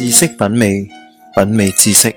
知識品味，品味知識。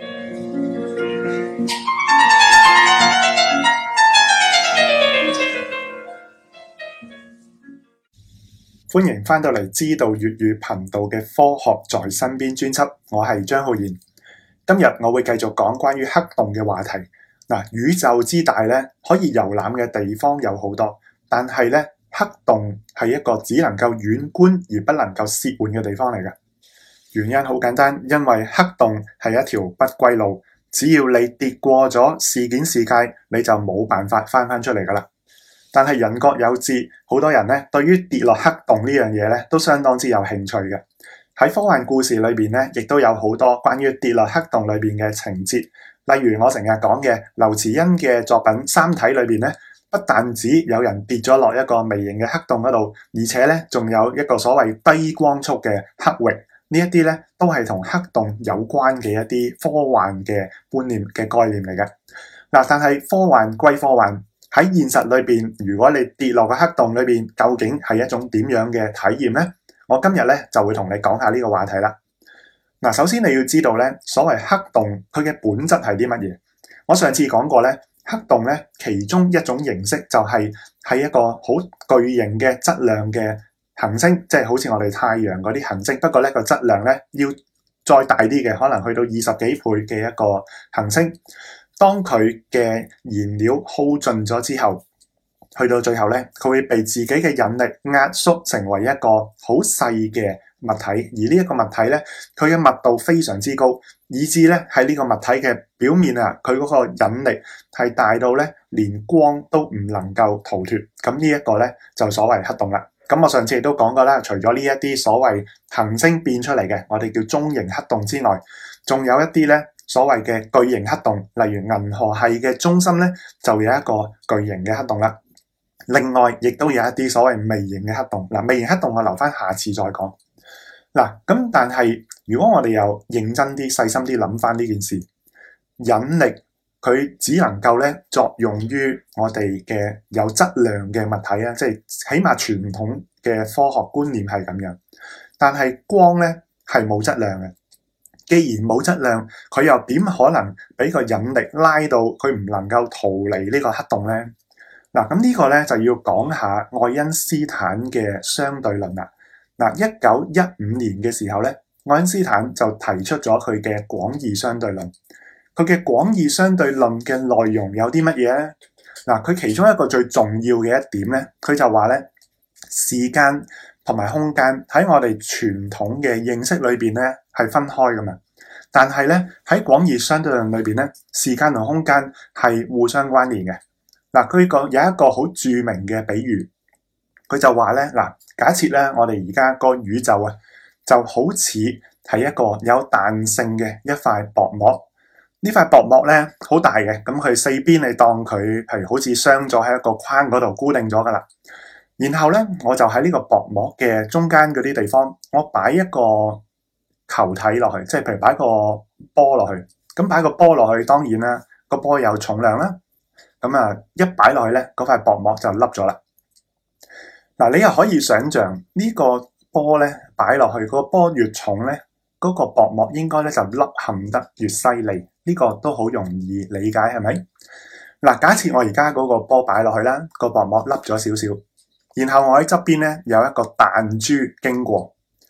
歡迎翻到嚟知道粵語頻道嘅科學在身邊專輯，我係張浩然。今日我會繼續講關於黑洞嘅話題。宇宙之大咧，可以遊覽嘅地方有好多，但係咧，黑洞係一個只能夠遠觀而不能夠褻玩嘅地方嚟嘅。原因好簡單，因為黑洞係一條不歸路，只要你跌過咗事件視界，你就冇辦法翻出嚟噶啦。但係人各有志，好多人咧對於跌落黑洞呢樣嘢咧都相當之有興趣嘅。喺科幻故事裏邊咧，亦都有好多關於跌落黑洞裏邊嘅情節。例如我成日講嘅劉慈欣嘅作品《三體》裏邊咧，不但止有人跌咗落一個微型嘅黑洞嗰度，而且咧仲有一個所謂低光速嘅黑域。呢一啲咧都係同黑洞有關嘅一啲科幻嘅觀念嘅概念嚟嘅。但係科幻歸科幻，喺現實裏邊，如果你跌落個黑洞裏邊，究竟係一種點樣嘅體驗呢？我今日咧就會同你講下呢個話題啦。首先你要知道咧，所謂黑洞佢嘅本質係啲乜嘢？我上次講過咧，黑洞咧其中一種形式就係一個好巨型嘅質量嘅行星，即係好似我哋太陽嗰啲行星，不過咧個質量咧要再大啲嘅，可能去到20幾倍嘅一個行星。當佢嘅燃料耗盡咗之後，去到最後咧，佢會被自己嘅引力壓縮成為一個好細嘅物體，而呢一個物體咧，佢嘅密度非常之高，以至咧喺呢個物體嘅表面啊，佢嗰個引力係大到咧連光都唔能夠逃脫。咁呢一個咧就所謂黑洞啦。咁我上次亦都講過啦，除咗呢一啲所謂行星變出嚟嘅，我哋叫中型黑洞之外，仲有一啲咧所謂嘅巨型黑洞，例如銀河系嘅中心咧就有一個巨型嘅黑洞啦。另外亦都有一啲所謂微型嘅黑洞。微型黑洞我留翻下次再講。咁但係如果我哋又認真啲細心啲諗翻呢件事，引力佢只能夠咧作用於我哋嘅有質量嘅物體啊，即係起碼傳統嘅科學觀念係咁樣。但係光咧係冇質量嘅，既然冇質量，佢又點可能俾個引力拉到佢唔能夠逃離呢個黑洞咧？咁呢個咧就要講下愛因斯坦嘅相對論啦。1915年嘅時候咧，愛因斯坦就提出咗佢嘅廣義相對論。佢嘅廣義相對論嘅內容有啲乜嘢咧？佢其中一個最重要嘅一點咧，佢就話咧，時間同埋空間喺我哋傳統嘅認識裏邊咧係分開噶嘛。但係咧喺廣義相對論裏邊咧，時間同空間係互相關聯嘅。佢有一個好著名嘅比喻，佢就話咧，假設咧我哋而家個宇宙啊，就好似係一個有彈性嘅一塊薄膜。呢塊薄膜咧好大嘅，咁佢四邊你當佢譬如好似鑲咗喺一個框嗰度固定咗噶啦。然後咧我就喺呢個薄膜嘅中間嗰啲地方，我擺一個球體落去，即係譬如擺個波落去。咁擺個波落去，當然啦，個波有重量啦。咁一擺落去咧，嗰塊薄膜就凹咗啦。你又可以想象呢個波咧擺落去，個波越重咧，嗰個薄膜應該咧就凹陷得越犀利。呢個都好容易理解，係咪？假設我而家嗰個波擺落去啦，個薄膜凹咗少少，然後我喺側邊咧有一個彈珠經過。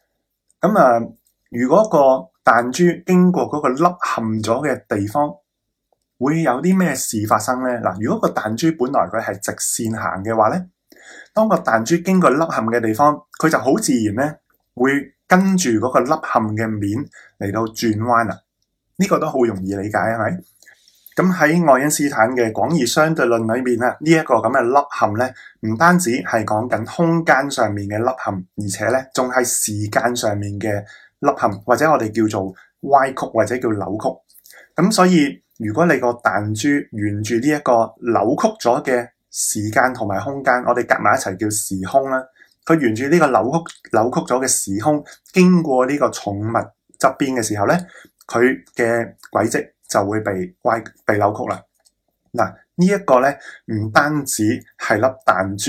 如果個彈珠經過嗰個凹陷咗嘅地方，會有啲咩事發生呢？如果個彈珠本來佢係直線行嘅話呢，當個彈珠經過凹陷嘅地方，佢就好自然呢會跟住嗰個凹陷嘅面嚟到轉彎啦。呢個都好容易理解，係咪？咁喺愛因斯坦嘅廣義相對論裏面呢一個咁嘅凹陷呢，唔單止係講緊空間上面嘅凹陷，而且呢仲係時間上面嘅凹陷，或者我哋叫做歪曲或者叫扭曲。咁所以如果你個彈珠沿住呢一個扭曲咗嘅時間同埋空間，我哋夾埋一齊叫時空啦。佢沿住呢個扭曲咗嘅時空，經過呢個重物側邊嘅時候咧，佢嘅軌跡就會被扭曲啦。呢一個咧唔單止係粒彈珠，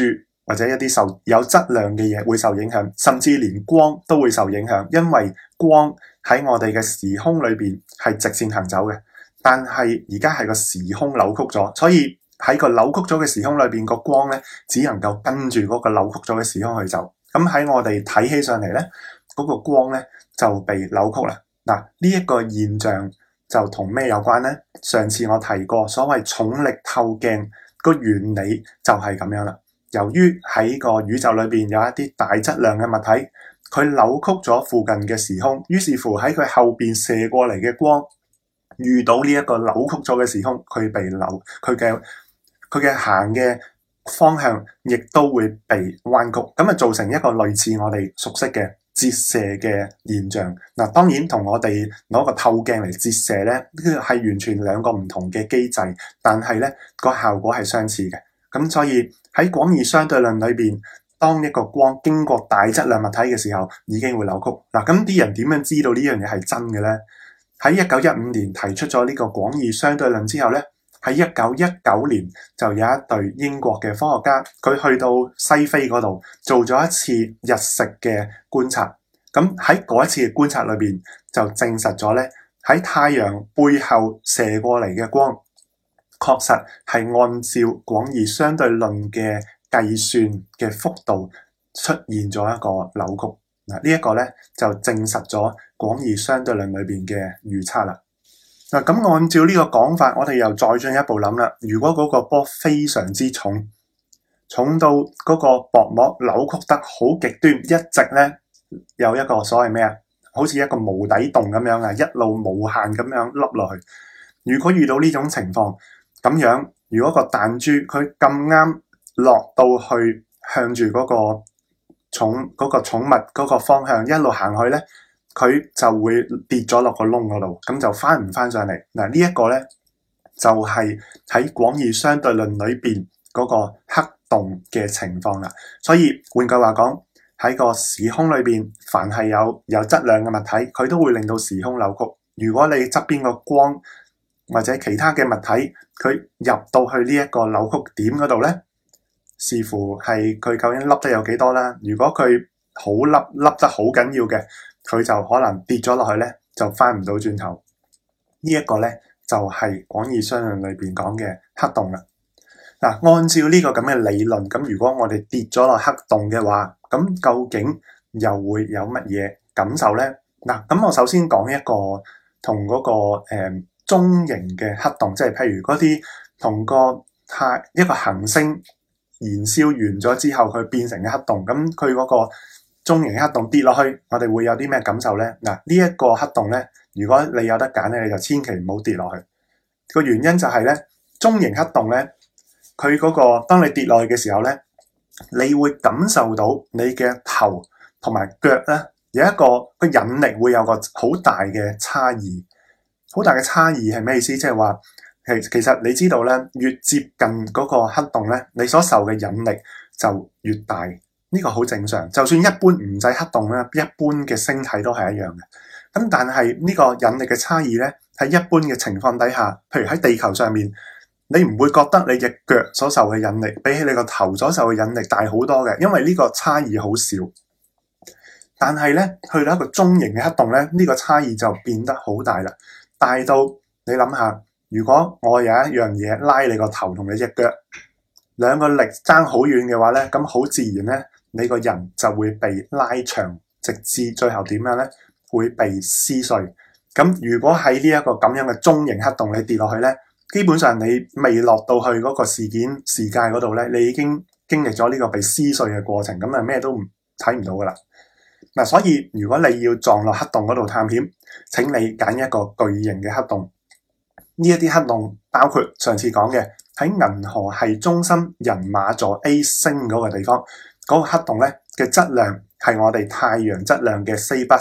或者一啲有質量嘅嘢會受影響，甚至連光都會受影響，因為光喺我哋嘅時空裏邊係直線行走嘅，但係而家係個時空扭曲咗，所以喺個扭曲咗嘅時空裏邊，個光咧只能夠跟住嗰個扭曲咗嘅時空去走。咁喺我哋睇起上嚟咧，嗰個光咧就被扭曲啦。嗱，呢一個現象就同咩有關呢？上次我提過，所謂重力透鏡個原理就係咁樣啦。由於喺個宇宙裏邊有一啲大質量嘅物體，佢扭曲咗附近嘅時空，於是乎喺佢後邊射過嚟嘅光遇到呢一個扭曲咗嘅時空，佢被扭，佢嘅行嘅方向亦都會被彎曲，咁啊造成一個類似我哋熟悉嘅折射嘅現象。嗱，當然同我哋攞個透鏡嚟折射咧，係完全兩個唔同嘅機制，但係咧個效果係相似嘅。咁所以喺廣義相對論裏邊，當一個光經過大質量物體嘅時候，已經會扭曲。嗱，咁啲人點樣知道呢樣嘢係真嘅咧？喺1915年提出咗呢個廣義相對論之後咧，喺1919年就有一隊英國嘅科學家，佢去到西非嗰度做咗一次日食嘅觀察。咁喺嗰一次嘅觀察裏邊，就證實咗咧，喺太陽背後射過嚟嘅光，確實係按照廣義相對論嘅計算嘅幅度出現咗一個扭曲。嗱，呢一個咧就證實咗廣義相對論裏邊嘅預測啦。嗱，咁按照呢個講法，我哋又再進一步諗啦。如果嗰個波非常之重，重到嗰個薄膜扭曲得好極端，一直咧有一個所謂咩啊？好似一個無底洞咁樣啊，一路無限咁樣凹落去。如果遇到呢種情況，咁樣如果個彈珠佢咁啱落到去向住嗰個重物嗰個方向一路行去咧，佢就會跌咗落個窿嗰度，咁就翻唔翻上嚟。嗱，呢一個咧就係喺廣義相對論裏邊嗰個黑洞嘅情況啦。所以換句話講，喺個時空裏邊，凡係有質量嘅物體，佢都會令到時空扭曲。如果你側邊個光或者其他嘅物體，佢入到去呢一個扭曲點嗰度咧，視乎係佢究竟凹得有幾多啦。如果佢好凹得好緊要嘅，佢就可能跌咗落去咧，就翻唔到轉頭。呢一個咧就係廣義相對論裏邊講嘅黑洞啦。嗱，按照呢個咁嘅理論，咁如果我哋跌咗落黑洞嘅話，咁究竟又會有乜嘢感受咧？嗱，咁我首先講一個同嗰個中型嘅黑洞，即係譬如嗰啲同一個行星燃燒完咗之後，佢變成嘅黑洞，咁佢嗰個中型黑洞跌落去，我哋會有啲咩感受咧？嗱，呢一個黑洞咧，如果你有得揀咧，你就千祈唔好跌落去。個原因就係咧，中型黑洞咧，佢嗰個當你跌落去嘅時候咧，你會感受到你嘅頭同埋腳咧有一個引力會有個好大嘅差異。好大嘅差異係咩意思？即係話其實你知道咧，越接近嗰個黑洞咧，你所受嘅引力就越大。呢個好正常，就算一般唔使黑洞咧，一般嘅星體都係一樣嘅。咁但係呢個引力嘅差異咧，喺一般嘅情況底下，譬如喺地球上面，你唔會覺得你隻腳所受嘅引力比起你個頭所受嘅引力大好多嘅，因為呢個差異好少。但係咧，去到一個中型嘅黑洞咧，呢個差異就變得好大啦，大到你諗下，如果我有一樣嘢拉你個頭同你隻腳，兩個力爭好遠嘅話咧，咁好自然咧，你個人就會被拉長，直至最後點樣咧？會被撕碎。咁如果喺呢一個咁樣嘅中型黑洞你跌落去咧，基本上你未落到去嗰個時界嗰度咧，你已經經歷咗呢個被撕碎嘅過程，咁啊咩都睇唔到噶啦。嗱，所以如果你要撞落黑洞嗰度探險，請你揀一個巨型嘅黑洞。呢一啲黑洞包括上次講嘅喺銀河系中心人馬座 A 星嗰個地方，嗰個黑洞咧嘅質量係我哋太陽質量嘅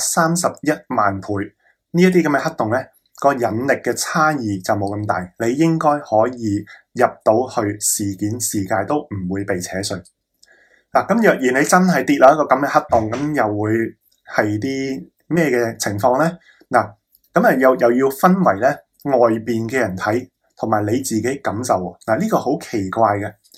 431萬倍。呢一啲咁嘅黑洞咧，個引力嘅差異就冇咁大，你應該可以入到去事界都唔會被扯碎。嗱，咁若然你真係跌落一個咁嘅黑洞，咁又會係啲咩嘅情況咧？嗱，咁啊又要分為咧外邊嘅人睇同埋你自己感受喎。嗱，呢個好奇怪嘅，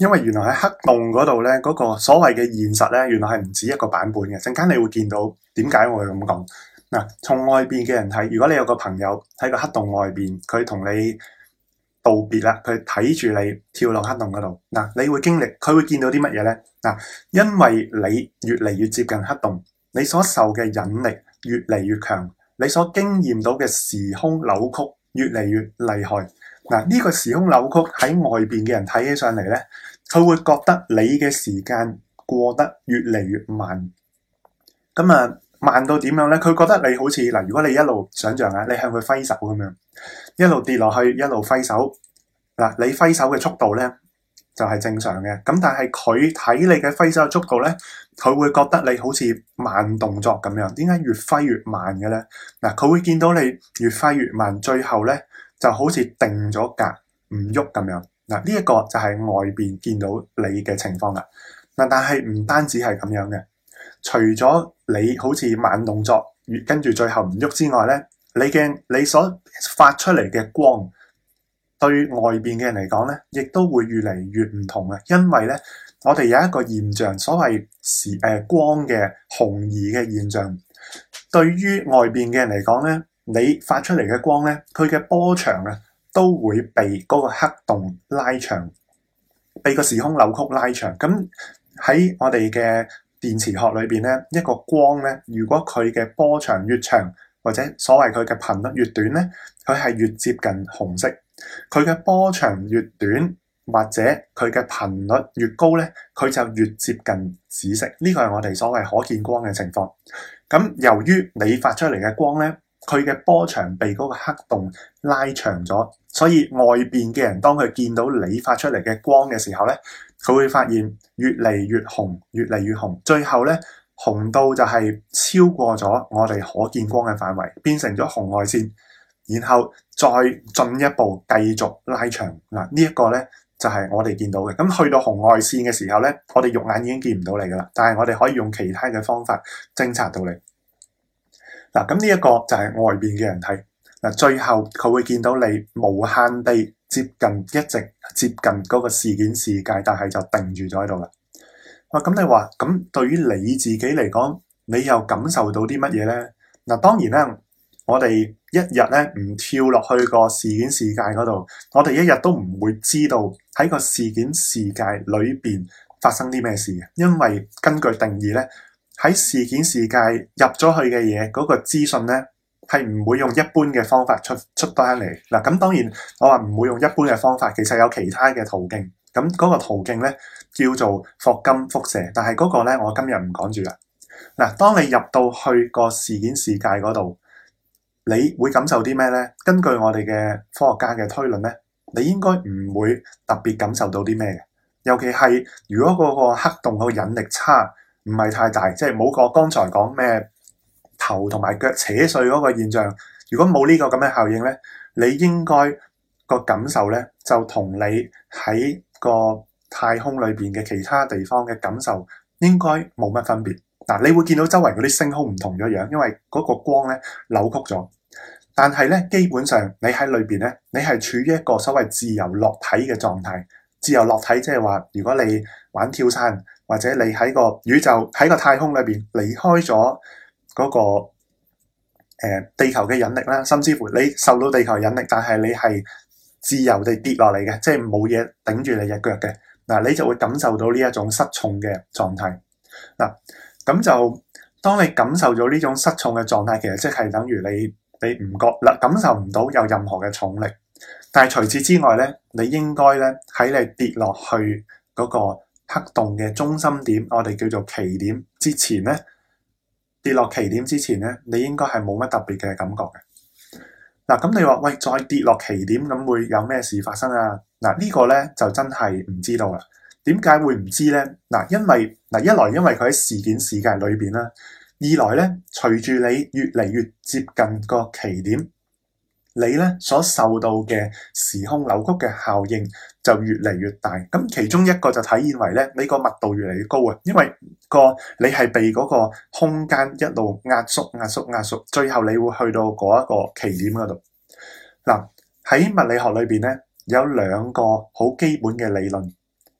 因為原來喺黑洞嗰度咧，嗰個所謂嘅現實咧，原來係唔止一個版本嘅。陣間你會見到點解我會咁講。嗱，從外邊嘅人睇，如果你有個朋友喺個黑洞外邊，佢同你道別啦，佢睇住你跳落黑洞嗰度，嗱，你會經歷，佢會見到啲乜嘢咧？嗱，因為你越嚟越接近黑洞，你所受嘅引力越嚟越強，你所經驗到嘅時空扭曲越嚟越厲害。嗱，呢個時空扭曲喺外邊嘅人睇起上嚟咧，佢會覺得你嘅時間過得越嚟越慢。咁啊，慢到點樣咧？佢覺得你好似嗱，如果你一路想象下，你向佢揮手咁樣，一路跌落去，一路揮手。嗱，你揮手嘅速度咧就係正常嘅。咁但係佢睇你嘅揮手嘅速度咧，佢會覺得你好似慢動作咁樣。點解越揮越慢嘅咧？嗱，佢會見到你越揮越慢，最後咧就好似定咗格唔喐咁樣。嗱，呢一個就係外邊見到你嘅情況啦。嗱，但係唔單止係咁樣嘅，除咗你好似慢動作，跟住最後唔喐之外咧，你所發出嚟嘅光，對外邊嘅人嚟講咧，亦都會越嚟越唔同嘅。因為咧，我哋有一個現象，所謂光嘅紅移嘅現象，對於外邊嘅人嚟講咧，你發出嚟嘅光咧，佢嘅波長啊，都會被嗰個黑洞拉長，被個時空扭曲拉長。咁喺我哋嘅電磁學裏邊咧，一個光咧，如果佢嘅波長越長，或者所謂佢嘅頻率越短咧，佢係越接近紅色；佢嘅波長越短，或者佢嘅頻率越高咧，佢就越接近紫色。呢個係我哋所謂可見光嘅情況。咁由於你發出嚟嘅光咧，佢嘅波長被嗰個黑洞拉長咗，所以外邊嘅人當佢見到你發出嚟嘅光嘅時候咧，佢會發現越嚟越紅，越嚟越紅，最後咧紅到就係超過咗我哋可見光嘅範圍，變成咗紅外線，然後再進一步繼續拉長。嗱，呢一個咧就係我哋見到嘅。咁去到紅外線嘅時候咧，我哋肉眼已經見唔到你噶啦，但係我哋可以用其他嘅方法偵察到你。嗱，咁呢一個就係外邊嘅人睇。嗱，最後佢會見到你無限地接近，一直接近嗰個事件視界，但係就定住咗喺度啦。哇，咁你話咁對於你自己嚟講，你又感受到啲乜嘢咧？嗱，當然啦，我哋一日咧唔跳落去個事件視界嗰度，我哋一日都唔會知道喺個事件視界裏邊發生啲咩事嘅，因為根據定義咧，喺事件視界入咗去嘅嘢，嗰個資訊咧係唔會用一般嘅方法出翻嚟。嗱，咁當然我話唔會用一般嘅方法，其實有其他嘅途徑。咁嗰個途徑咧叫做霍金輻射，但係嗰個咧我今日唔講住啦。嗱，當你入到去個事件視界嗰度，你會感受啲咩咧？根據我哋嘅科學家嘅推論咧，你應該唔會特別感受到啲咩嘅。尤其係如果嗰個黑洞個引力差唔係太大，即係冇個剛才講咩頭同埋腳扯碎嗰個現象，如果冇呢個咁嘅效應咧，你應該個感受咧就同你喺個太空裏邊嘅其他地方嘅感受應該冇乜分別。嗱，你會見到周圍嗰啲星空唔同咗樣，因為嗰個光咧扭曲咗。但係咧，基本上你喺裏邊咧，你係處於一個所謂自由落體嘅狀態。自由落體即係話，如果你玩跳傘，或者你喺個宇宙喺個太空裏邊離開咗嗰個地球嘅引力啦，甚至乎你受到地球引力，但係你係自由地跌落嚟嘅，即係冇嘢頂住你隻腳嘅。嗱，你就會感受到呢一種失重嘅狀態。嗱，咁就當你感受咗呢種失重嘅狀態，其實即係等於你唔覺啦，感受唔到有任何嘅重力。但係除此之外咧，你應該咧喺你跌落去嗰個黑洞嘅中心點，我哋叫做奇點之前咧，跌落奇點之前咧，你應該係冇乜特別嘅感覺嘅。嗱，咁你話喂，再跌落奇點咁會有咩事發生啊？嗱，呢個咧就真係唔知道啦。點解會唔知咧？嗱，因為一來因為佢喺事件視界裏邊啦，二來咧隨住你越嚟越接近個奇點，你咧所受到嘅時空扭曲嘅效應就越嚟越大。咁其中一個就體現為咧，你個密度越嚟越高啊，因為你係被嗰個空間一路壓縮，最後你會去到嗰一個奇點嗰度。嗱，喺物理學裏邊咧有兩個好基本嘅理論。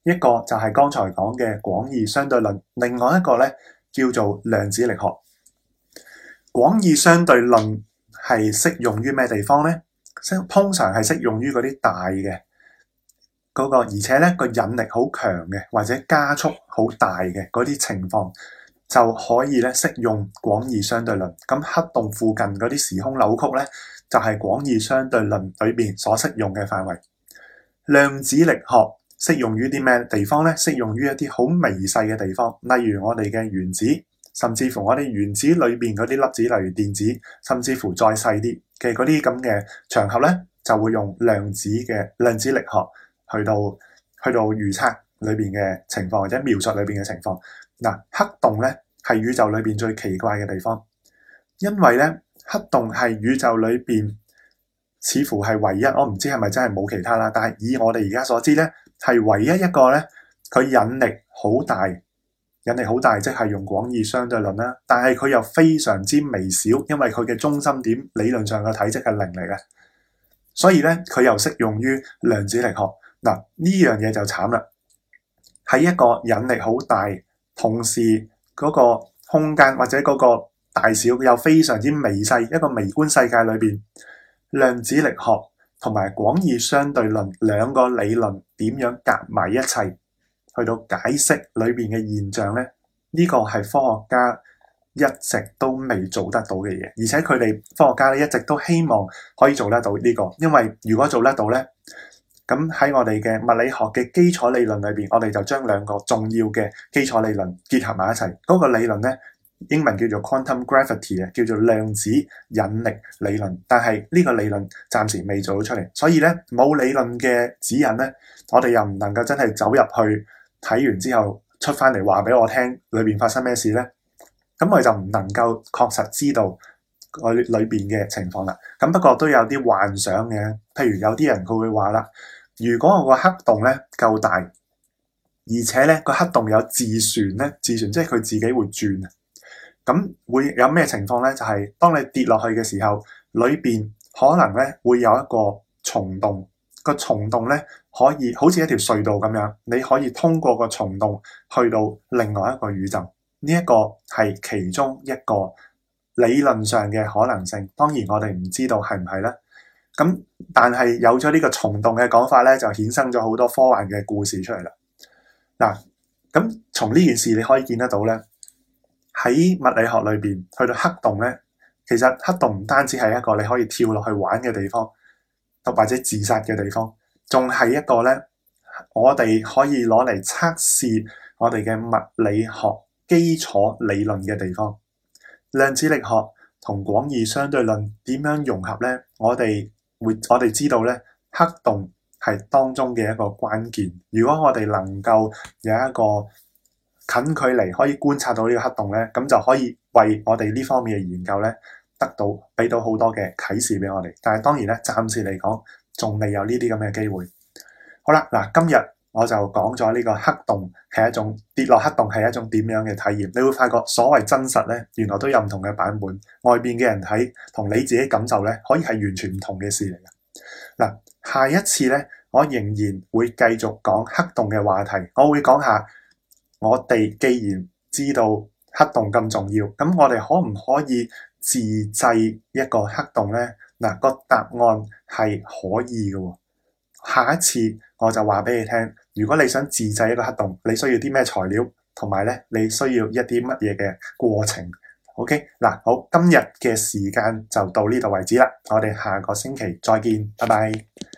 一個就係剛才講嘅廣義相對論，另外一個咧叫做量子力學。廣義相對論係適用於咩地方呢？通常係適用於嗰啲大嘅嗰個，而且咧個引力好強嘅，或者加速好大嘅嗰啲情況，就可以咧適用廣義相對論。咁黑洞附近嗰啲時空扭曲咧，就係廣義相對論裏邊所適用嘅範圍。量子力學適用於啲咩地方咧？適用於一啲好微細嘅地方，例如我哋嘅原子，甚至乎我哋原子裏邊嗰啲粒子，例如電子，甚至乎再細啲嘅嗰啲咁嘅場合咧，就會用量子力學去到預測裏邊嘅情況，或者描述裏邊嘅情況。嗱，黑洞咧係宇宙裏邊最奇怪嘅地方，因為咧黑洞係宇宙裏邊似乎係唯一，我唔知係咪真係冇其他啦，但係以我哋而家所知咧，係唯一一個咧，佢引力好大，即係用廣義相對論啦。但係佢又非常之微小，因為佢嘅中心點理論上嘅體積係零嚟嘅，所以咧佢又適用於量子力學。嗱，呢樣嘢就慘啦，喺一個引力好大，同時嗰個空間或者嗰個大小又非常之微細，一個微觀世界裏邊，量子力學同埋廣義相對論兩個理論點樣夾埋一齊去到解釋裏邊嘅現象呢？呢個係科學家一直都未做得到嘅嘢，而且佢哋科學家咧一直都希望可以做得到呢個，因為如果做得到呢，咁喺我哋嘅物理學嘅基礎理論裏邊，我哋就將兩個重要嘅基礎理論結合埋一齊。嗰個理論呢，英文叫做 quantum gravity 啊，叫做量子引力理論。但係呢個理論暫時未做到出嚟，所以咧冇理論嘅指引咧，我哋又唔能夠真係走入去睇完之後出翻嚟話俾我聽裏邊發生咩事咧。咁我哋就唔能夠確實知道個裏邊嘅情況啦。咁不過都有啲幻想嘅，譬如有啲人佢會話啦，如果我個黑洞咧夠大，而且咧個黑洞有自旋咧，自旋即係佢自己會轉。咁會有咩情況咧？就係當你跌落去嘅時候，裏邊可能咧會有一個蟲洞，個蟲洞咧可以好似一條隧道咁樣，你可以通過個蟲洞去到另外一個宇宙。呢一個係其中一個理論上嘅可能性。當然我哋唔知道係唔係咧。咁但係有咗呢個蟲洞嘅講法咧，就衍生咗好多科幻嘅故事出嚟啦。嗱，咁從呢件事你可以見得到咧，喺物理學裏邊去到黑洞咧，其實黑洞唔單止係一個你可以跳落去玩嘅地方，或者自殺嘅地方，仲係一個咧我哋可以攞嚟測試我哋嘅物理學基礎理論嘅地方。量子力學同廣義相對論點樣融合咧？我哋知道咧，黑洞係當中嘅一個關鍵。如果我哋能夠有一個近距離可以觀察到呢個黑洞咧，咁就可以為我哋呢方面嘅研究咧俾到好多嘅啟示俾我哋。但係當然咧，暫時嚟講仲未有呢啲咁嘅機會。好啦，嗱，今日我就講咗呢個黑洞係一種跌落黑洞係一種點樣嘅體驗。你會發覺所謂真實咧，原來都有唔同嘅版本。外邊嘅人睇同你自己感受咧，可以係完全唔同嘅事嚟嘅。嗱，下一次咧，我仍然會繼續講黑洞嘅話題。我會講下我哋既然知道黑洞咁重要，咁我哋可唔可以自製一個黑洞咧？嗱，個答案係可以嘅。下一次我就話俾你聽，如果你想自製一個黑洞，你需要啲咩材料，同埋咧你需要一啲乜嘢嘅過程。OK， 嗱，好，今日嘅時間就到呢度為止啦，我哋下個星期再見，拜拜。